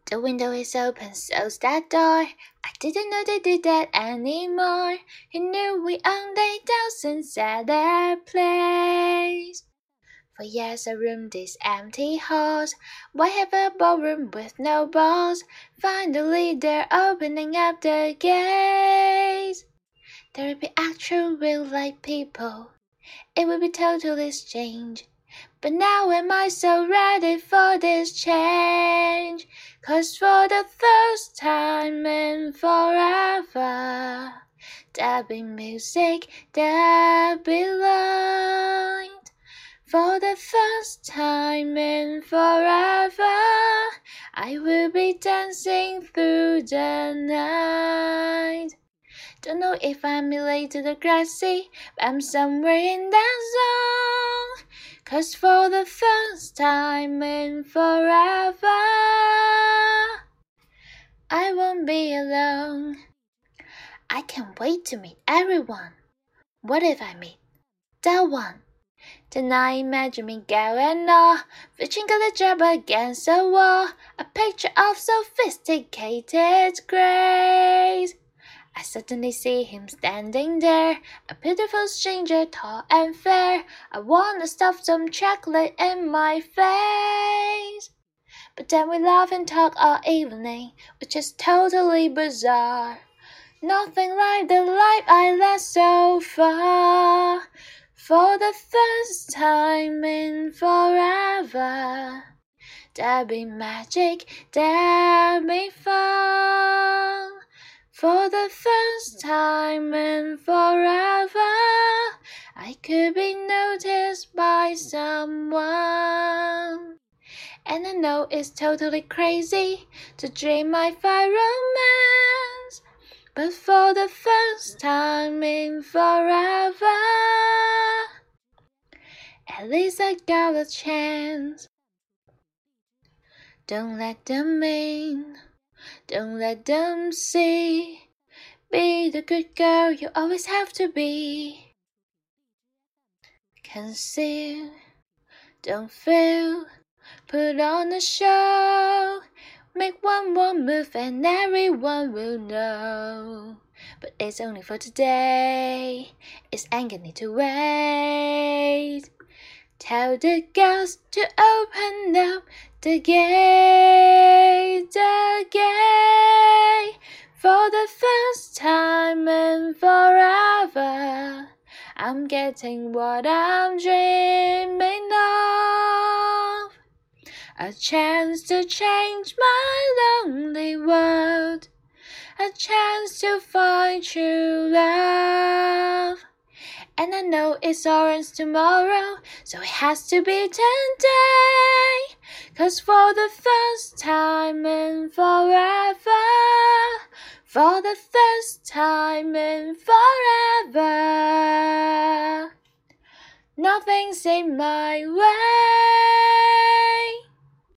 The window is open, so's that door. I didn't know they did that anymore. He knew we owned 8,000 at their place. For years I roomed these empty halls. Why have a ballroom with no balls? Finally they're opening up the gates. There will be actual real life people. It will be totally strange. But now am I so ready for this change? 'Cause for the first time in forever, there'll be music, there'll be light. For the first time in forever, I will be dancing through the night. Don't know if I'm related to the grassy, but I'm somewhere in that zone. 'Cause for the first time in forever, I won't be alone. I can't wait to meet everyone. What if I meet that one? Then I imagine me going off, reaching a job against a wall, a picture of sophisticated grace. I suddenly see him standing there, a beautiful stranger, tall and fair. I wanna stuff some chocolate in my face. But then we laugh and talk all evening, which is totally bizarre. Nothing like the life I led so far. For the first time in forever, there'll be magic, there'll be fun. For the first time in forever, I could be noticed by someone. And I know it's totally crazy to dream my fire romance, but for the first time in forever, at least I got a chance. Don't let them in, don't let them see. Be the good girl you always have to be. Conceal, don't feel, put on a show. Make one more move and everyone will know. But it's only for today, it's ain't gonna need to wait. Tell the girls to open up the gate, for the first time in forever. I'm getting what I'm dreaming of, a chance to change my lonely world, a chance to find true love. And I know it's orange tomorrow, so it has to be today. 'Cause for the first time in forever, for the first time in forever, nothing's in my way.